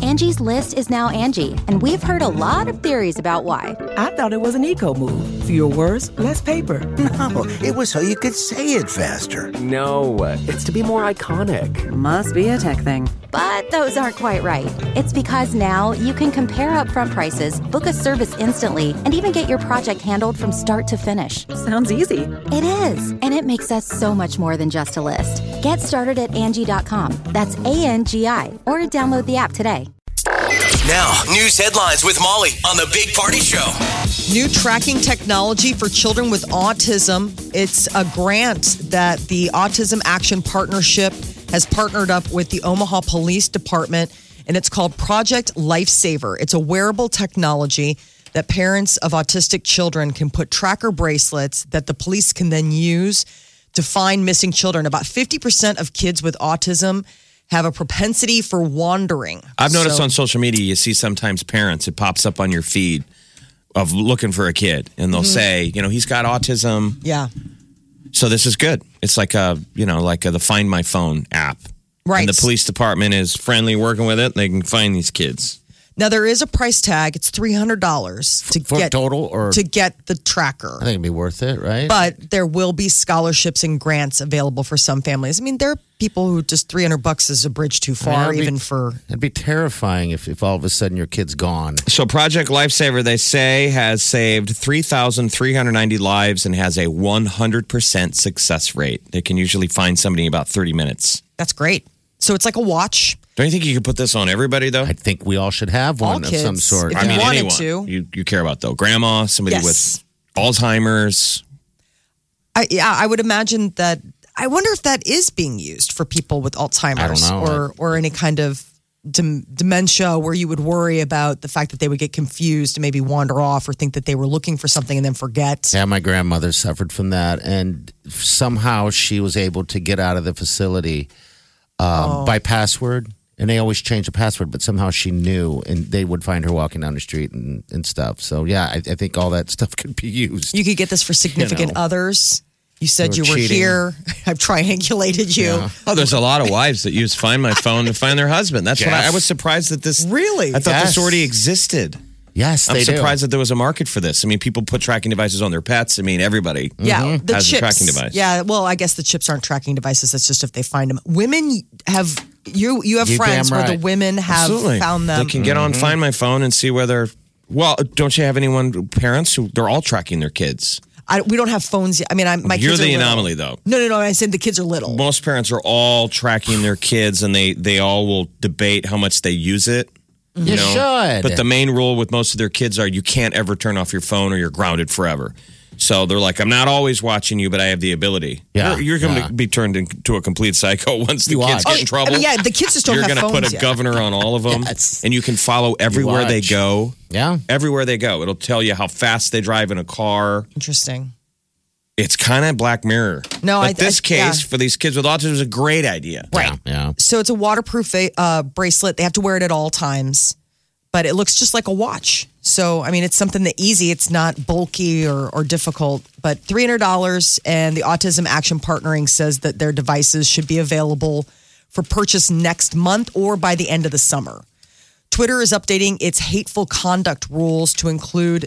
Angie's List is now Angie, and we've heard a lot of theories about why. I thought it was an eco move. Fewer words, less paper. No, it was so you could say it faster. No, it's to be more iconic. Must be a tech thing. But those aren't quite right. It's because now you can compare upfront prices, book a service instantly, and even get your project handled from start to finish. Sounds easy. It is, and it makes us so much more than just a list. Get started at Angie.com. That's ANGI, or download the app today. Now, news headlines with Molly on the Big Party Show. New tracking technology for children with autism. It's a grant that the Autism Action Partnership has partnered up with the Omaha Police Department, and it's called Project Lifesaver. It's a wearable technology that parents of autistic children can put tracker bracelets that the police can then use to find missing children. About 50% of kids with autism have a propensity for wandering. I've noticed on social media, you see sometimes parents, it pops up on your feed of looking for a kid, and they'll say, he's got autism. Yeah. So this is good. It's like the Find My Phone app. Right. And the police department is friendly working with it. They can find these kids. Now, there is a price tag. It's $300 to for get total, or to get the tracker. I think it'd be worth it, right? But there will be scholarships and grants available for some families. I mean, there are people who just $300 is a bridge too far, It'd be terrifying if all of a sudden your kid's gone. So Project Lifesaver, they say, has saved 3,390 lives and has a 100% success rate. They can usually find somebody in about 30 minutes. That's great. So it's like a watch. Don't you think you could put this on everybody, thoh? I think we all should have one All kids, of some sort. if you wanted anyone to. you care about, though. Grandma, somebody Yes. with Alzheimer's. I would imagine that. I wonder if that is being used for people with Alzheimer's I don't know. or any kind of dementia where you would worry about the fact that they would get confused and maybe wander off or think that they were looking for something and then forget. Yeah, my grandmother suffered from that, and somehow she was able to get out of the facility by password. And they always change the password, but somehow she knew, and they would find her walking down the street and stuff. So, yeah, I think all that stuff could be used. You could get this for significant others. You said you were cheating. here. I've triangulated you. Yeah. Oh, there's a lot of wives that use Find My Phone to find their husband. That's what I was surprised that this. Really? I thought Yes. this already existed. Yes, I'm they do. surprised that there was a market for this. I mean, people put tracking devices on their pets. I mean, everybody Yeah, the has chips. a tracking device. Yeah, well, I guess the chips aren't tracking devices. That's just if they find them. Women have you have You friends damn where the right. women have Absolutely. found them. They can get on Find My Phone and see whether. Well, don't you have parents who they're all tracking their kids? We don't have phones yet. I mean, my You're kids are the little. anomaly, though. No. I said the kids are little. Most parents are all tracking their kids, and they all will debate how much they use it. You should. But the main rule with most of their kids are you can't ever turn off your phone or you're grounded forever. So they're like, I'm not always watching you, but I have the ability. Yeah, You're going yeah. to be turned into a complete psycho once the You kids are. get in trouble. I mean, yeah, the kids just don't You're have gonna phones put a yet. governor on all of them, Yes. and you can follow everywhere they watch. go. Yeah. Everywhere they go. It'll tell you how fast they drive in a car. Interesting. It's kind of Black Mirror. No, but this case yeah. for these kids with autism is a great idea. Right. Yeah. So it's a waterproof bracelet. They have to wear it at all times, but it looks just like a watch. So, I mean, it's something that easy. It's not bulky or difficult, but $300. And the Autism Action Partnering says that their devices should be available for purchase next month or by the end of the summer. Twitter is updating its hateful conduct rules to include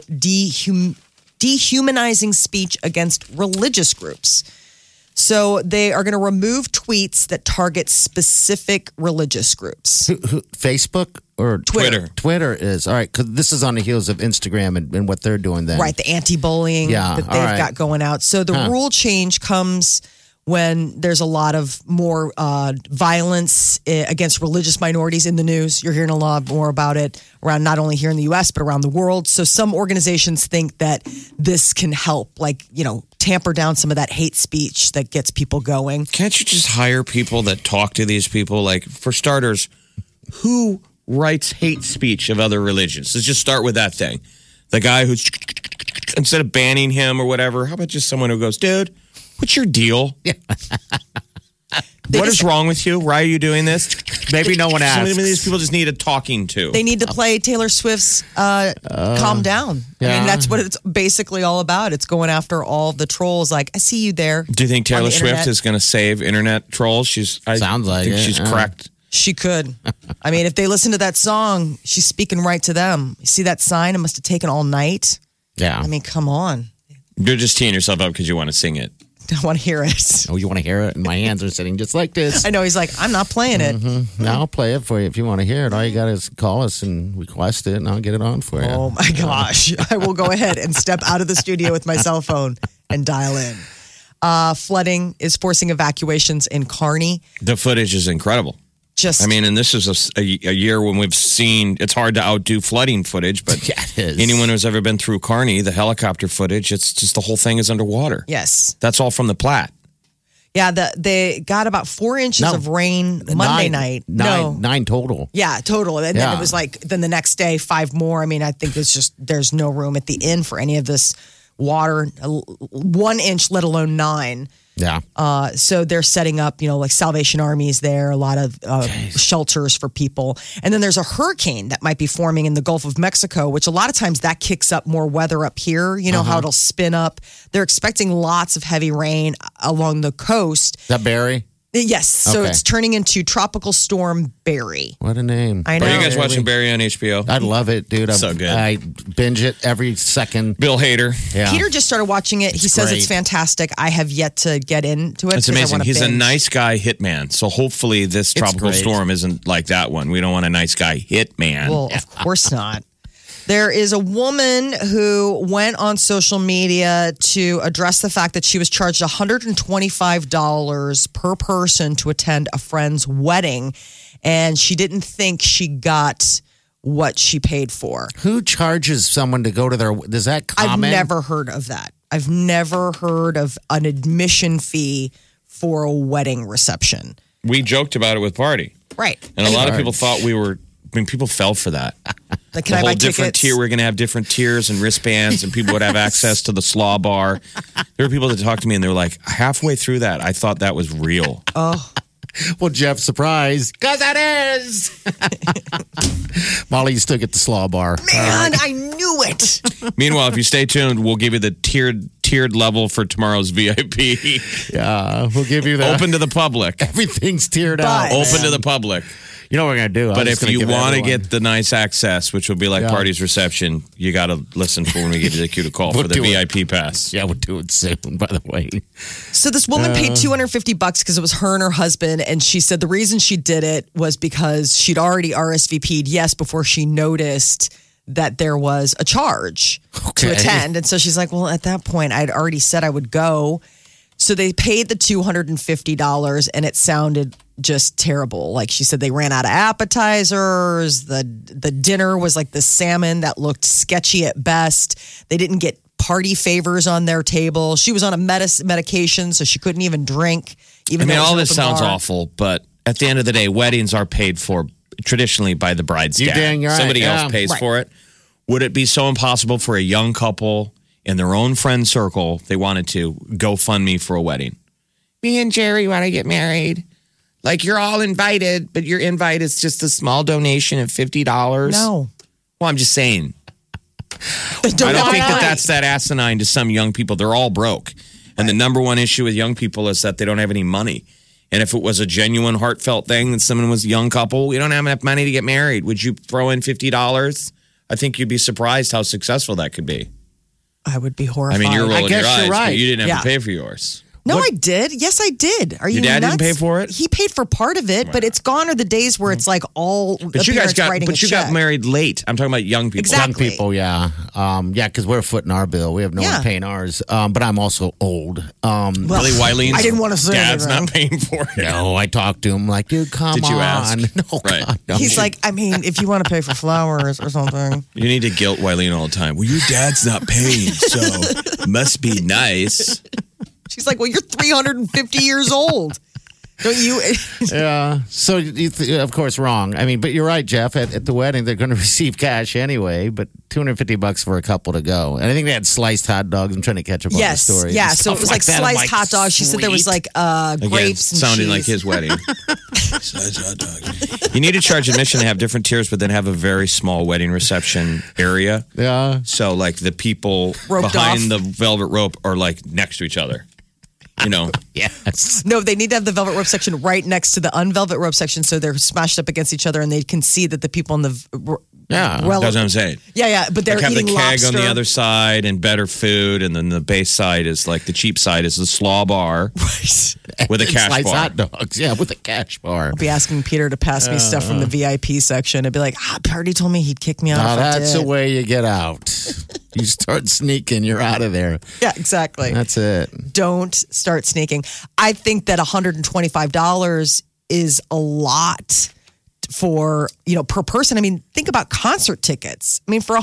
dehumanizing speech against religious groups. So they are going to remove tweets that target specific religious groups. Facebook or Twitter. Twitter is all right because this is on the heels of Instagram and what they're doing then. Right, the anti-bullying Yeah, that all they've right. got going out. So the rule change comes when there's a lot of more violence against religious minorities in the news. You're hearing a lot more about it around not only here in the U.S., but around the world. So some organizations think that this can help, like, tamper down some of that hate speech that gets people going. Can't you just hire people that talk to these people? Like, for starters, who writes hate speech of other religions? Let's just start with that thing. The guy who's, instead of banning him or whatever, how about just someone who goes, dude, what's your deal? What is wrong with you? Why are you doing this? Maybe no one asks. Some of these people just need a talking to. They need to play Taylor Swift's Calm Down. I yeah. mean, that's what it's basically all about. It's going after all the trolls. Like, I see you there. Do you think on Taylor the Swift internet. is going to save internet trolls? Sounds like think it, she's yeah. cracked. She could. I mean, if they listen to that song, she's speaking right to them. You see that sign? It must have taken all night. Yeah. I mean, come on. You're just teeing yourself up because you want to sing it. I want to hear it. Oh, you want to hear it? And my hands are sitting just like this. I know. He's like, I'm not playing it. Now I'll play it for you if you want to hear it. All you got is call us and request it, and I'll get it on for you. Oh, my gosh. I will go ahead and step out of the studio with my cell phone and dial in. Flooding is forcing evacuations in Kearney. The footage is incredible. I mean, and this is a year when we've seen, it's hard to outdo flooding footage, but Yeah, it is. anyone who's ever been through Kearney, the helicopter footage, it's just the whole thing is underwater. Yes. That's all from the Platte. Yeah, they got about 4 inches No. of rain Monday night. Nine total. Yeah, total. And then Yeah. it was like, then the next day, 5 more. I mean, I think it's just, there's no room at the inn for any of this water, 1 inch, let alone 9. Yeah. So they're setting up, like Salvation Armies there, a lot of shelters for people. And then there's a hurricane that might be forming in the Gulf of Mexico, which a lot of times that kicks up more weather up here. You know how it'll spin up. They're expecting lots of heavy rain along the coast. Is that Barry? Yes. So Okay. it's turning into Tropical Storm Barry. What a name. I know. Are you guys watching Barry on HBO? I love it, dude. So good. I binge it every second. Bill Hader. Yeah. Peter just started watching it. He says great. it's fantastic. I have yet to get into it. It's 'cause I amazing. wanna He's a binge. nice guy hitman. So hopefully this tropical great. storm isn't like that one. We don't want a nice guy hitman. Well, of course not. There is a woman who went on social media to address the fact that she was charged $125 per person to attend a friend's wedding, and she didn't think she got what she paid for. Who charges someone to go to their? Is that I've common? never heard of that. I've never heard of an admission fee for a wedding reception. We joked about it with Party. Right. And a lot of people thought people fell for that. Like, The can I whole buy different tickets? tier. We're going to have different tiers and wristbands, and people would have access to the slaw bar. There were people that talked to me, and they were like, halfway through that, I thought that was real. Well, Jeff, surprise. Because that is. Molly, you still get the slaw bar. Man, I knew it. Meanwhile, if you stay tuned, we'll give you the tiered level for tomorrow's VIP. Yeah, we'll give you that. Open to the public. Everything's tiered But- out. Open to the public. You know what we're going to do? But if you want to get the nice access, which will be like Yeah. Party's reception, you got to listen for when we give you the cue to call We'll for the do it. VIP pass. Yeah, we'll do it soon, by the way. So this woman paid $250 because it was her and her husband, and she said the reason she did it was because she'd already RSVP'd before she noticed that there was a charge to Okay. attend. And so she's like, well, at that point, I'd already said I would go. So they paid the $250, and it sounded just terrible. Like she said, they ran out of appetizers. The dinner was like the salmon that looked sketchy at best. They didn't get party favors on their table. She was on a medication, so she couldn't even drink. Even though it was all an this open sounds bar. awful, but at the end of the day, weddings are paid for traditionally by the bride's You dad. dang right, Somebody yeah. else pays Right. for it. Would it be so impossible for a young couple in their own friend circle, if they wanted to, go fund me for a wedding? Me and Jerry want to get married. Like, you're all invited, but your invite is just a small donation of $50. No. Well, I'm just saying. I don't think that's that asinine to some young people. They're all broke. And the number one issue with young people is that they don't have any money. And if it was a genuine, heartfelt thing that someone was a young couple, we don't have enough money to get married. Would you throw in $50? I think you'd be surprised how successful that could be. I would be I horrified. mean, you're rolling your guess eyes, you're but right. you didn't have to Yeah. pay for yours. No, I did. Yes, I did. Are you Your dad didn't nuts? pay for it? He paid for part of it, but it's gone are the days where it's like all But you guys got writing a got check. married late. I'm talking about young people. Exactly. Young people, yeah. Yeah, because we're footing our bill. We have no Yeah. one paying ours. But I'm also old. Well, Really, Wileen's I didn't want to say dad's anything. not paying for it. No, I talked to him like, dude, come Did you on. ask? No, Right. God, no. He's like, I mean, if you want to pay for flowers or something. You need to guilt Wileen all the time. Well, your dad's not paying, so must be nice. She's like, well, you're 350 years old. Don't you? Yeah. So, of course, wrong. I mean, but you're right, Jeff. At the wedding, they're going to receive cash anyway, but $250 for a couple to go. And I think they had sliced hot dogs. I'm trying to catch up on the Yes. story. Yeah. and So it stuff was like that. I'm sliced like, hot dogs. She said there was sweet. like Again, grapes and sounding cheese. like his wedding. Sliced hot dog. You need to charge admission to have different tiers, but then have a very small wedding reception area. Yeah. So, like, the people Roped behind off. the velvet rope are like next to each other. you know. Yes. No, they need to have the velvet rope section right next to the unvelvet rope section, so they're smashed up against each other, and they can see that the people in the Yeah. well, That's what I'm saying. yeah, but they're Like have the eating keg lobster. on the other side and better food, and then the base side is like the cheap side is the slaw bar with a cash Slice bar. hot dogs. Yeah, with a cash bar. I'll be asking Peter to pass me stuff from the VIP section. I'd be like, Party told me he'd kick me out. Now if I that's did. the way you get out. You start sneaking, you're out of there. Yeah, exactly. That's it. Don't start sneaking. I think that $125 is a lot for, per person. I mean, think about concert tickets. I mean, for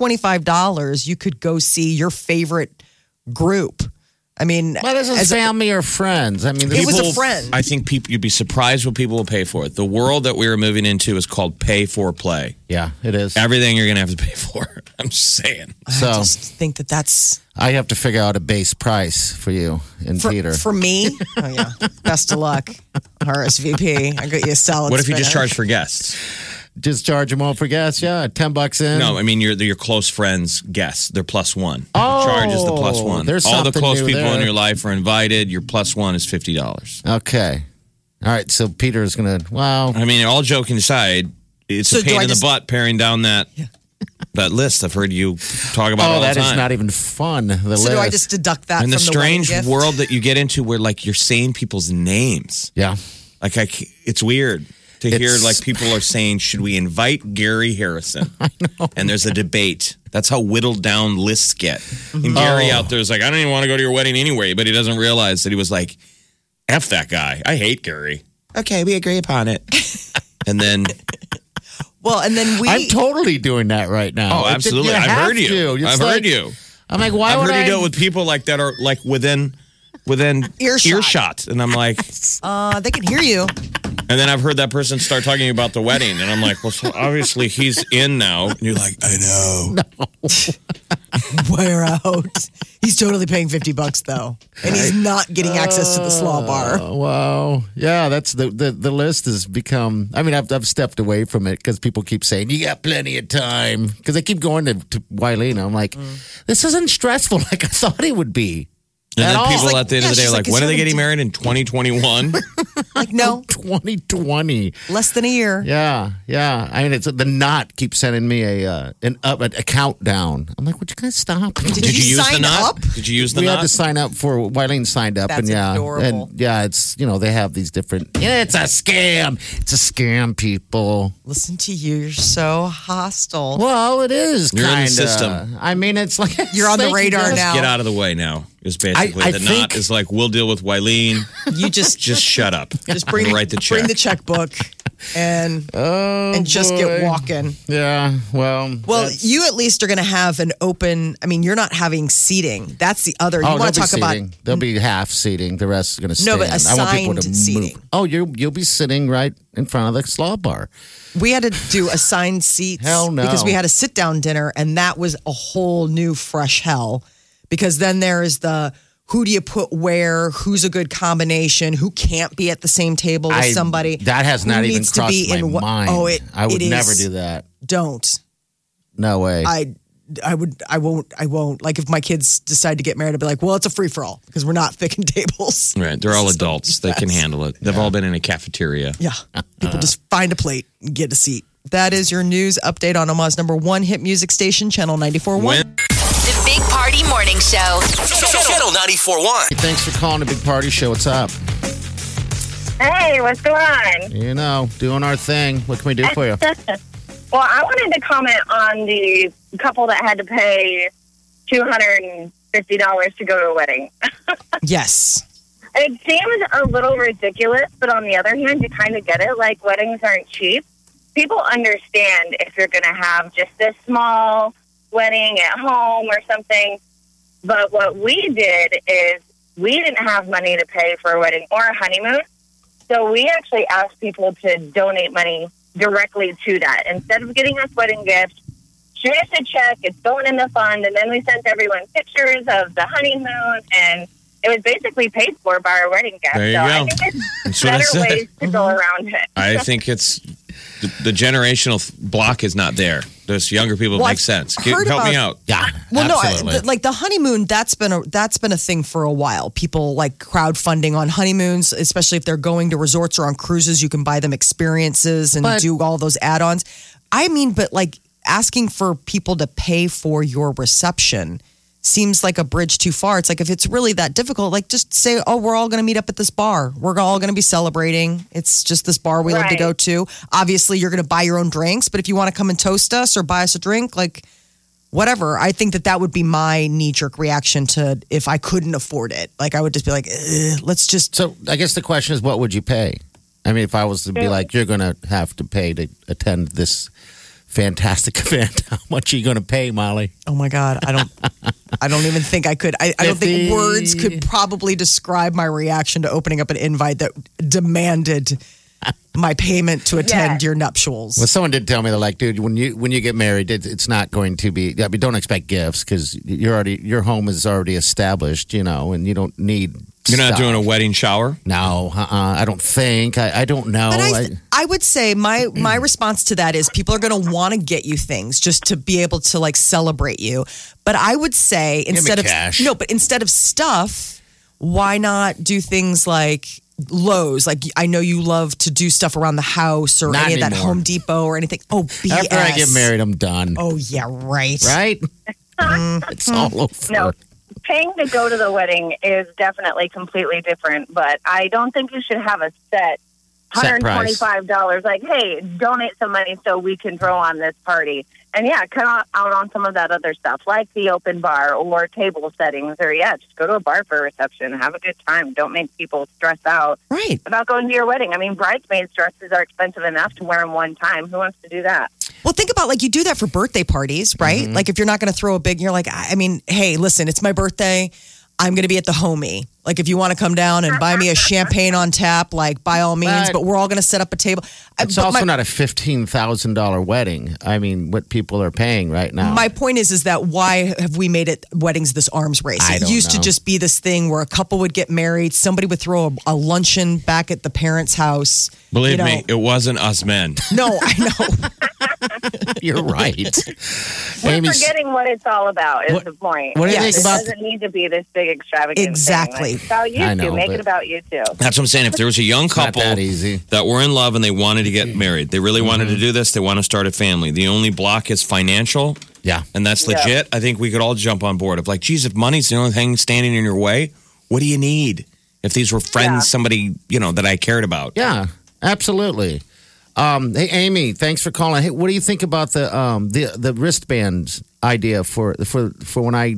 $125, you could go see your favorite group. I mean, Well, this is as a- family or friends. I mean, It was a People- friend. I think you'd be surprised what people will pay for it. The world that we are moving into is called pay for play. yeah, it is. Everything you're going to have to pay for. I'm just saying. I So just think that that's I have to figure out a base price for you and Peter. for me. Oh yeah, best of luck, RSVP. I got you a salad. What if you just spinner. charge for guests? Just charge them all for gas. Yeah, $10 in. No, I mean your close friends guests. They're +1. Oh, Charge is the +1. there's all the something close new people in there. your life are invited. Your +1 is $50. Okay. All right. So Peter's gonna. Wow. I mean, all joking aside, it's So a do pain I in just- the butt paring down that list. I've heard you talk about all that the is time. not even fun. The So list. do I just deduct that and the from the wedding strange gift? world that you get into, where like you're saying people's names. Yeah. Like it's weird to hear It's- like people are saying, should we invite Gary Harrison? I know. And there's a debate. That's how whittled down lists get. And Gary out there is like, I don't even want to go to your wedding anyway, but he doesn't realize that he was like, F that guy. I hate Gary. Okay, we agree upon it. And then, Well, and then I'm totally doing that right now. oh, absolutely. I've heard you. I've heard you. I'm like, why I've would heard I you do it with people like that are like within earshot. And I'm like, they can hear you. and then I've heard that person start talking about the wedding, and I'm like, well, so obviously he's in now. And you're like, I know. Wear out. He's totally paying $50 though, and he's not getting access to the slaw bar. Wow. Yeah, that's the list has become. I mean, I've stepped away from it because people keep saying you got plenty of time because they keep going to Wileen. I'm like, this isn't stressful like I thought it would be. And At then all. people She's like, at the end yeah, of the day she's are like, like, when are is they there a getting married in 2021? Like, no, 2020. less than a year. Yeah. I mean, it's the knot keeps sending me a countdown. I'm like, would you guys stop? Did Did you use the sign knot? up? Did you use the we had knot? to sign up for Wileen signed up, That's and yeah, adorable. and yeah, it's they have these different. Yeah, it's a scam. It's a scam, people. Listen to you. You're so hostile. Well, it is. You're in the kinda. system. I mean, it's like You're on the thank you, radar guys. now. Get out of the way now. Is basically I the think- knot is like, we'll deal with Wileen. You just Shut up. just bring and write the check. bring the checkbook and just get boy. walking. Yeah. Well. Well, you at least are going to have an open. I mean, you're not having seating. That's the other. You there'll want to be talk about seating. There'll be half seating. The rest is going to No, stand. but I want people to assigned move. seating. Oh, you'll be sitting right in front of the slaw bar. We had to do assigned seats. Hell no. Because we had a sit down dinner, and that was a whole new fresh hell. Because then there is the who do you put where, who's a good combination, who can't be at the same table with somebody. That has who not even needs to crossed be my in mind. Oh, I would it never is. do that. Don't. No way. I won't. Like if my kids decide to get married, I'd be like, well, it's a free for all because we're not picking tables. Right. They're all adults. They can handle it. They've all been in a cafeteria. Yeah. People just find a plate and get a seat. That is your news update on Omaha's #1 hit music station, Channel 94.1. When- The Big Party Morning Show. Channel 94.1. Thanks for calling the Big Party Show. What's up? Hey, what's going on? Doing our thing. What can we do for you? Well, I wanted to comment on the couple that had to pay $250 to go to a wedding. Yes. It seems a little ridiculous, but on the other hand, you kind of get it. Like, weddings aren't cheap. People understand if you're going to have just this small wedding at home or something. But what we did is we didn't have money to pay for a wedding or a honeymoon. So we actually asked people to donate money directly to that. Instead of getting us wedding gifts, shoot us a check, it's going in the fund, and then we sent everyone pictures of the honeymoon, and it was basically paid for by our wedding guests. There you so go. I think That's there's what I better said. ways to go around it. I think it's the generational block is not there. Those younger people Well, make I've sense. heard Help me about- out. Yeah, Well, absolutely. no, like the honeymoon, that's been a thing for a while. People like crowdfunding on honeymoons, especially if they're going to resorts or on cruises. You can buy them experiences and But- do all those add-ons. I mean, but like asking for people to pay for your reception seems like a bridge too far. It's like if it's really that difficult, like just say, "Oh, we're all going to meet up at this bar. We're all going to be celebrating. It's just this bar we love to Right. go to. Obviously, you're going to buy your own drinks, but if you want to come and toast us or buy us a drink, like." Whatever. I think that would be my knee-jerk reaction to if I couldn't afford it. Like I would just be like, let's just. So I guess the question is, what would you pay? I mean, if I was to be like, you're going to have to pay to attend this fantastic event, how much are you going to pay, Molly? Oh my God, I don't even think I could. I don't think 50. words could probably describe my reaction to opening up an invite that demanded my payment to attend your nuptials. Well, someone did tell me, they're like, dude, when you get married, it's not going to be. I mean, don't expect gifts because your home is already established, and you don't need. You're not stuff. doing a wedding shower? No, I don't think. I don't know. But I would say my response to that is people are going to want to get you things just to be able to like celebrate you. But I would say instead of cash. instead of stuff, why not do things like Lowe's? Like I know you love to do stuff around the house or Not any of that anymore. Home Depot or anything. Oh, BS. After I get married, I'm done. Oh yeah, right. Right? It's all over. No, paying to go to the wedding is definitely completely different, but I don't think you should have a set Set price. $125. Like, hey, donate some money so we can throw on this party. And yeah, cut out on some of that other stuff, like the open bar or table settings, or just go to a bar for a reception. Have a good time. Don't make people stress out Right. about going to your wedding. I mean, bridesmaids' dresses are expensive enough to wear them one time. Who wants to do that? Well, think about like you do that for birthday parties, right? Mm-hmm. Like if you're not going to throw a big, you're like, I mean, hey, listen, it's my birthday. I'm going to be at the homie. Like if you want to come down and buy me a champagne on tap, like by all means, but we're all going to set up a table. It's But also my- not a $15,000 wedding. I mean, what people are paying right now. My point is that why have we made it weddings this arms race? I It don't used to know. just be this thing where a couple would get married, somebody would throw a luncheon back at the parents' house. Believe you know. me, it wasn't us men. No, I know. You're right. We're Amy's- forgetting what it's all about is What- the point. what do you Yes, think it about- doesn't need to be this big extravagant Exactly. thing. Like, it's about you I two. know, Make but- it about you two. That's what I'm saying. If there was a young not couple that easy. that were in love and they wanted to get married, they really wanted to Mm-hmm. do this, they want to start a family. The only block is financial, Yeah. and that's legit. I think we could all jump on board of like, geez, if money's the only thing standing in your way, what do you need? If these were friends, Yeah. somebody, that I cared about. Yeah, absolutely. Hey, Amy, thanks for calling. Hey, what do you think about the wristband idea for when I,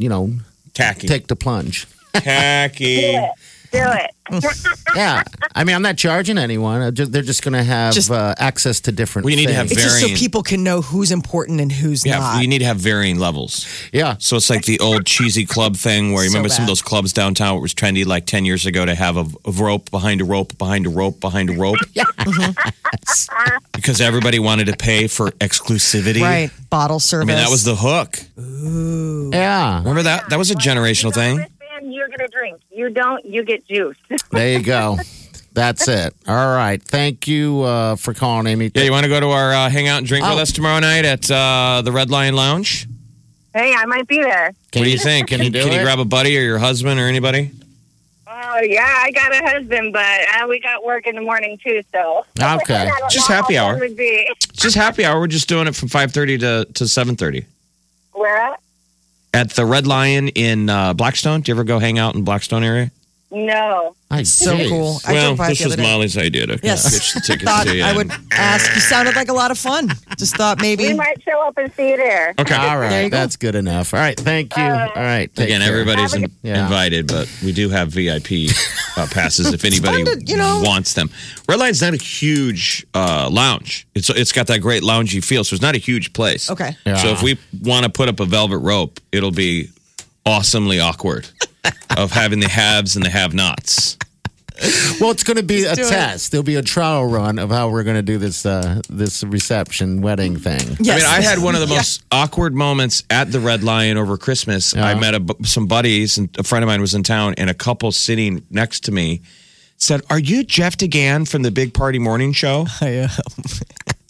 Tacky. take the plunge? Tacky. Do it. Yeah, I mean, I'm not charging anyone. They're just going to have Just- access to different. We need to have things. It's just so Varying. people can know who's important and who's Yeah, not. you need to have varying levels. Yeah, So it's like the old cheesy club thing where you So remember some of bad. those clubs downtown where it was trendy like 10 years ago to have a rope behind a rope behind a rope behind a rope. Because everybody wanted to pay for exclusivity. Right. Bottle I service. mean, that was the hook. yeah. Remember that? That was a generational thing. Wristband, you're going to drink. You don't, you get juice. There you go. That's it. All right. Thank you for calling, Amy. Yeah, you want to go to our hangout and drink with Oh. us tomorrow night at the Red Lion Lounge? Hey, I might be there. What do you think? Can you do Can you it? grab a buddy or your husband or anybody? Oh, yeah, I got a husband, but we got work in the morning, too, so. Okay. I don't Just know happy how hour. fun would be. It's just happy hour. We're just doing it from 5:30 to 7:30 Where at? at the Red Lion in Blackstone. Do you ever go hang out in Blackstone area? No. so cool. I Well, drove by it this the was other day. Molly's idea to Yes. pitch the tickets Thought to you. I would ask. You sounded like a lot of fun. Just thought maybe. We might show up and see you there. Okay. All There right. you go. That's good enough. All right. Thank you. All right. take Again, care. everybody's Yeah. invited, but we do have VIP passes if anybody fun to, wants them. Red Lion's not a huge lounge. It's got that great loungy feel, so it's not a huge place. Okay. Yeah. So if we want to put up a velvet rope, it'll be awesomely awkward of having the haves and the have-nots. Well, it's going to be a do it. test. There'll be a trial run of how we're going to do this this reception wedding thing. Yes. I mean, I had one of the most awkward moments at the Red Lion over Christmas. I met some buddies, and a friend of mine was in town, and a couple sitting next to me said, "Are you Jeff DeGan from the Big Party Morning Show?" I am.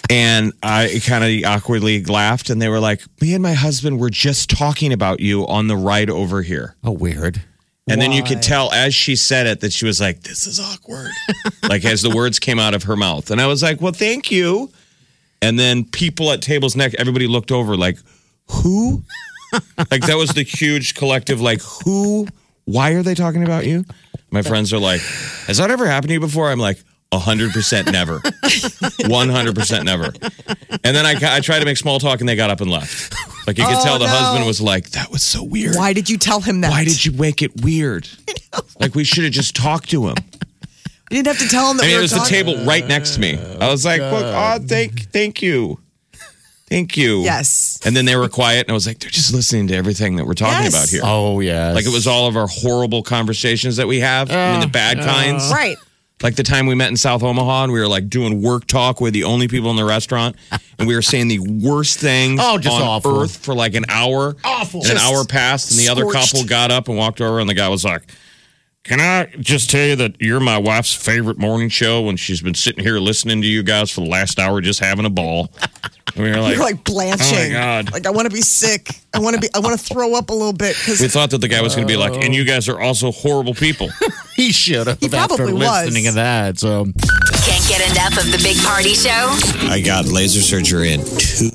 And I kind of awkwardly laughed, and they were like, me and my husband were just talking about you on the ride over here. Oh, weird. And then you could tell as she said it that she was like, this is awkward. Like as the words came out of her mouth. And I was like, well, thank you. And then people at tables next, everybody looked over like, who? Like that was the huge collective, like, who? Why are they talking about you? My friends are like, has that ever happened to you before? I'm like, 100% never. 100% never. And then I tried to make small talk and they got up and left. Like you could tell the husband was like, that was so weird. Why did you tell him that? Why did you make it weird? Like we should have just talked to him. You didn't have to tell him that. I mean, we it were was the talking. table right next to me. I was like, look, thank you. Thank you. Yes. And then they were quiet and I was like, they're just listening to everything that we're talking about here. Oh, yeah. Like it was all of our horrible conversations that we have. I mean, the bad kinds. Right. Like the time we met in South Omaha and we were like doing work talk. We're the only people in the restaurant. And we were saying the worst things just on awful. earth for like an hour. Awful. And an hour passed and the other Scorched. couple got up and walked over and the guy was like, can I just tell you that you're my wife's favorite morning show and she's been sitting here listening to you guys for the last hour just having a ball. And we were like, You're like blanching. oh my God. Like I want to be sick. I want to throw up a little bit We because thought that the guy was going to be like, and you guys are also horrible people. He should have He after probably was. listening to that. So Can't get enough of the Big Party Show? I got laser surgery in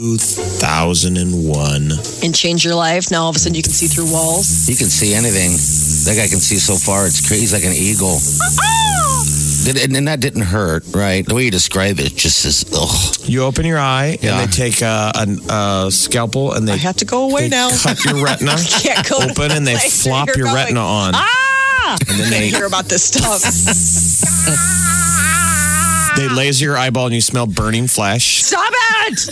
2001. and change your life. Now all of a sudden you can see through walls. He can see anything. That guy can see so far. It's crazy. He's like an eagle. And that didn't hurt, right? The way you describe it just is, ugh. You open your eye Yeah. and they take a scalpel and they I have to go away they now. cut your retina Can't go open and they place flop you're your going. retina on. And then I hear about this stuff. they laser your eyeball and you smell burning flesh. Stop it!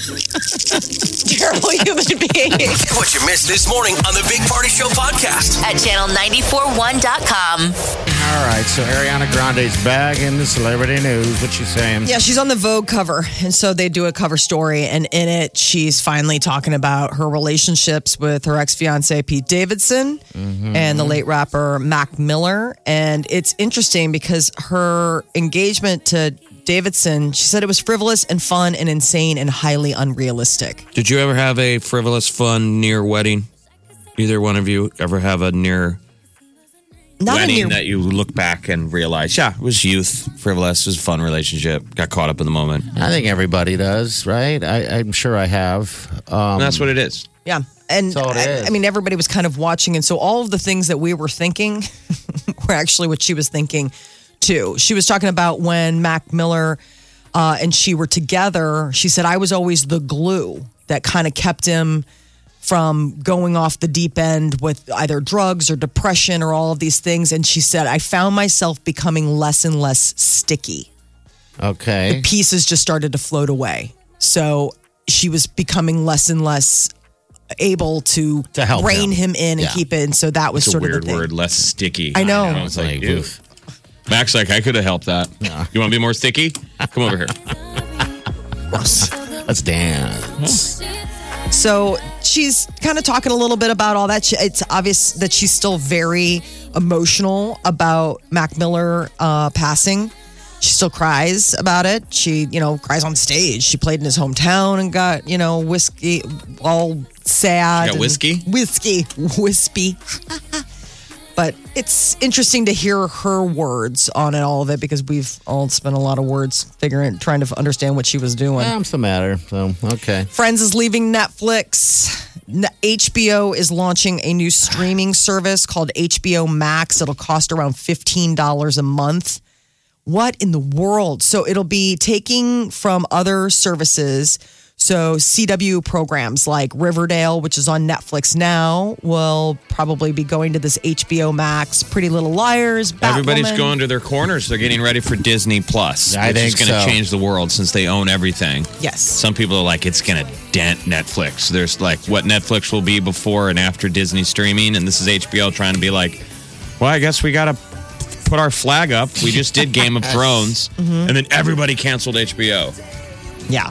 Terrible human being. What you missed this morning on the Big Party Show podcast. At channel941.com. all right, so Ariana Grande's back in the celebrity news. What you saying? Yeah, she's on the Vogue cover. And so they do a cover story. And in it, she's finally talking about her relationships with her ex-fiance, Pete Davidson, and the late rapper, Mac Miller. And it's interesting because her engagement to Davidson, she said it was frivolous and fun and insane and highly unrealistic. Did you ever have a frivolous, fun, near wedding? Either one of you ever have a near Not wedding a near, that you look back and realize, yeah, it was youth, frivolous, it was a fun relationship, got caught up in the moment. I think everybody does, right? I'm sure I have. And that's what it is. yeah. And That's all it is. I mean, everybody was kind of watching. And so all of the things that we were thinking were actually what she was thinking too. She was talking about when Mac Miller and she were together. She said, I was always the glue that kind of kept him from going off the deep end with either drugs or depression or all of these things. And she said, I found myself becoming less and less sticky. Okay. Pieces just started to float away. So she was becoming less and less able to help rein him. him in and Yeah. keep it. And so that was It's a sort of weird the thing. word, less sticky. I know. I was like, Like, ew. oof. Mac's like, I could have helped that. You want to be more sticky? Come over here. Let's dance. So she's kind of talking a little bit about all that. It's obvious that she's still very emotional about Mac Miller passing. She still cries about it. She, cries on stage. She played in his hometown and got, whiskey, all sad. Got and- whiskey? Wispy. But it's interesting to hear her words on it, all of it, because we've all spent a lot of words trying to understand what she was doing. What's the matter? So, okay. Friends is leaving Netflix. HBO is launching a new streaming service called HBO Max. It'll cost around $15 a month. What in the world? So it'll be taking from other services. So CW programs like Riverdale, which is on Netflix now, will probably be going to this HBO Max. Pretty Little Liars, Batwoman. Everybody's going to their corners. They're getting ready for Disney Plus. I which is think going to so. change the world since they own everything. Yes. Some people are like, it's going to dent Netflix. There's like what Netflix will be before and after Disney streaming. And this is HBO trying to be like, well, I guess we got to put our flag up. We just did Game of Thrones. And then everybody canceled HBO. Yeah.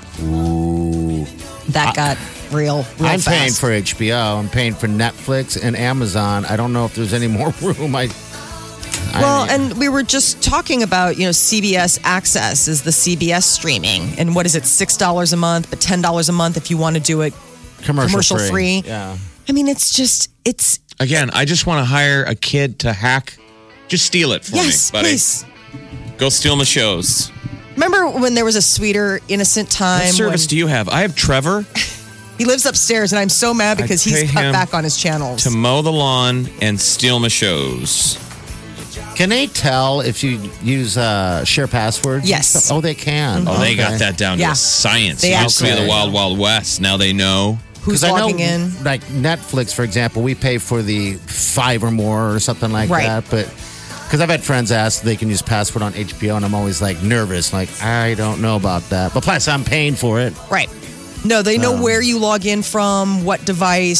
That got real I'm fast. paying for HBO. I'm paying for Netflix and Amazon. I don't know if there's any more room. I Well, and we were just talking about, CBS Access is the CBS streaming. And what is it, $6 a month, but $10 a month if you want to do it commercial free. Yeah. I mean, it's... Again, I just want to hire a kid to hack. Just steal it for me, buddy. Please. Go steal my shows. Remember when there was a sweeter, innocent time? What service do you have? I have Trevor. He lives upstairs, and I'm so mad because he's cut back on his channels. To mow the lawn and steal my shows. Can they tell if you use share passwords? Yes. Oh, they can. Oh, they got that down to a science. It used to be the Wild Wild West. Now they know. Who's logging in? Like Netflix, for example, we pay for the 5 or more or something like that. But because I've had friends ask if they can use password on HBO, and I'm always like nervous. Like, I don't know about that. But plus, I'm paying for it. Right. No, they know where you log in from, what device.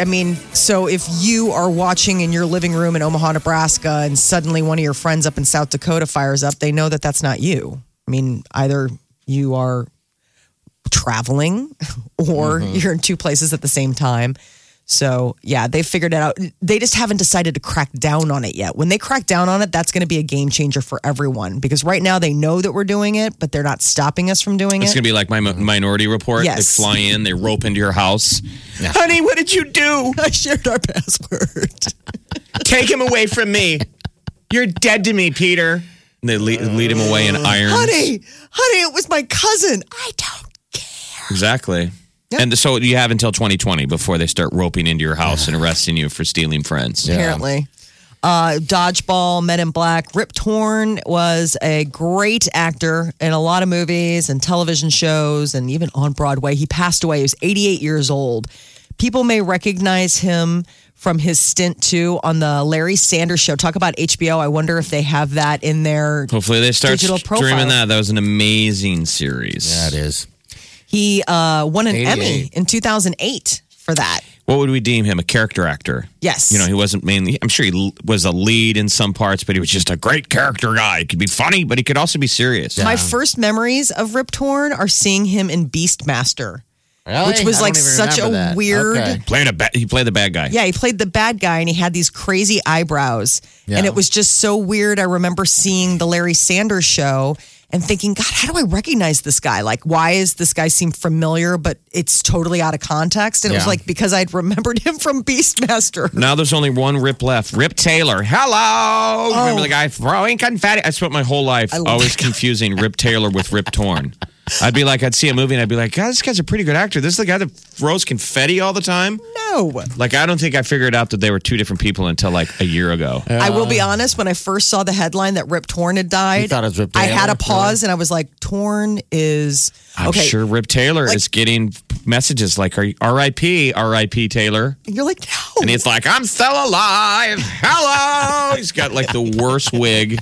So if you are watching in your living room in Omaha, Nebraska, and suddenly one of your friends up in South Dakota fires up, they know that that's not you. I mean, either you are traveling or you're in two places at the same time. So, yeah, they figured it out. They just haven't decided to crack down on it yet. When they crack down on it, that's going to be a game changer for everyone. Because right now they know that we're doing it, but they're not stopping us from doing it. It's going to be like my Minority Report. Yes. They fly in, they rope into your house. Yeah. Honey, what did you do? I shared our password. Take him away from me. You're dead to me, Peter. And they lead him away in irons. Honey, it was my cousin. I don't care. Exactly. Yep. And so you have until 2020 before they start roping into your house and arresting you for stealing friends. Apparently. Dodgeball, Men in Black. Rip Torn was a great actor in a lot of movies and television shows and even on Broadway. He passed away. He was 88 years old. People may recognize him from his stint, too, on the Larry Sanders Show. Talk about HBO. I wonder if they have that in their Hopefully they start digital profile. streaming that. That was an amazing series. Yeah, it is. He won an Emmy in 2008 for that. What would we deem him? A character actor? Yes. He wasn't mainly, I'm sure he was a lead in some parts, but he was just a great character guy. He could be funny, but he could also be serious. My first memories of Rip Torn are seeing him in Beastmaster. Really? Which was like such a weird... Okay. He played the bad guy. Yeah, he played the bad guy, and he had these crazy eyebrows. Yeah. And it was just so weird. I remember seeing the Larry Sanders Show and thinking, God, how do I recognize this guy? Like, why is this guy seem familiar, but it's totally out of context? And it was like, because I'd remembered him from Beastmaster. Now there's only one Rip left. Rip Taylor. Hello! Remember the guy throwing confetti? I spent my whole life always confusing Rip Taylor with Rip Torn. I'd see a movie and I'd be like, God, this guy's a pretty good actor. This is the guy that throws confetti all the time? No. Like, I don't think I figured out that they were two different people until like a year ago. I will be honest, when I first saw the headline that Rip Torn had died, You thought it was Rip I Taylor? had a pause and I was like, Torn is... I'm sure Rip Taylor is getting messages like, R.I.P., R.I.P. Taylor. And you're like, no. And he's like, I'm still alive. Hello. He's got like the worst wig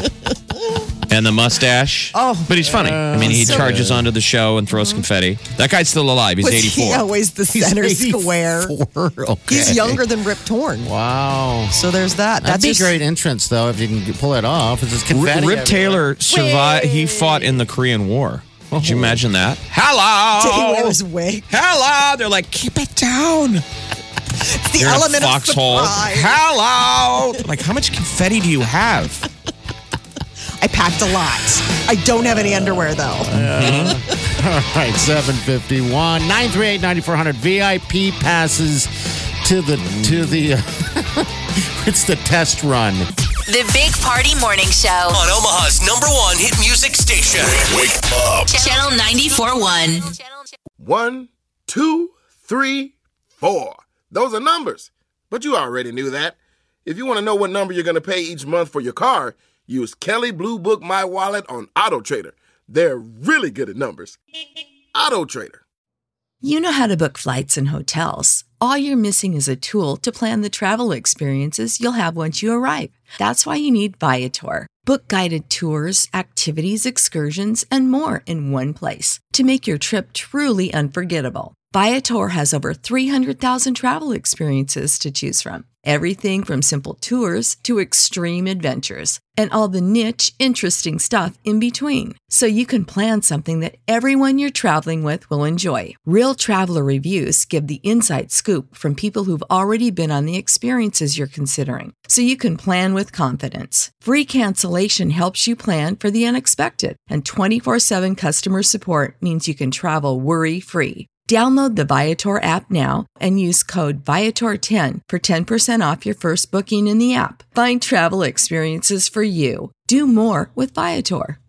and the mustache. Oh. But he's funny. I mean, he charges onto the show and throws confetti. That guy's still alive. He's Was 84. he always the center square? Okay. He's younger than Rip Torn. Wow. So there's that. That'd be a great entrance, though, if you can pull it off. It's just confetti Rip everywhere. Taylor survived. He fought in the Korean War. Could you imagine that? Hello. Did he wear his wig? Hello. They're like, keep it down. It's the You're element in a foxhole. of surprise. Hello. Like, how much confetti do you have? I packed a lot. I don't have any underwear, though. All right, 751 938-9400 VIP passes to the it's the test run. The Big Party Morning Show. On Omaha's #1 hit music station. Wake up. Channel 94.1. 1, 2, 3, 4. Those are numbers. But you already knew that. If you want to know what number you're going to pay each month for your car, use Kelley Blue Book My Wallet on Auto Trader. They're really good at numbers. Auto Trader. You know how to book flights and hotels. All you're missing is a tool to plan the travel experiences you'll have once you arrive. That's why you need Viator. Book guided tours, activities, excursions, and more in one place to make your trip truly unforgettable. Viator has over 300,000 travel experiences to choose from. Everything from simple tours to extreme adventures and all the niche, interesting stuff in between. So you can plan something that everyone you're traveling with will enjoy. Real traveler reviews give the inside scoop from people who've already been on the experiences you're considering. So you can plan with confidence. Free cancellation helps you plan for the unexpected. And 24/7 customer support means you can travel worry-free. Download the Viator app now and use code Viator10 for 10% off your first booking in the app. Find travel experiences for you. Do more with Viator.